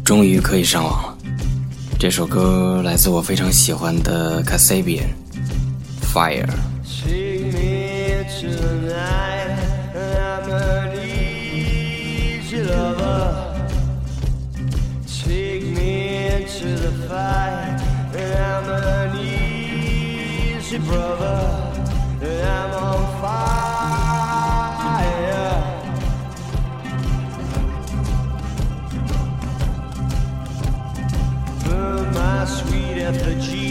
终于可以上网了。这首歌来自我非常喜欢的 Kasabian Fire。 Take me to the night, I'm an easy lover. Take me into the fight, I'm an easy brother. I'm on fire. Burn my sweet effigy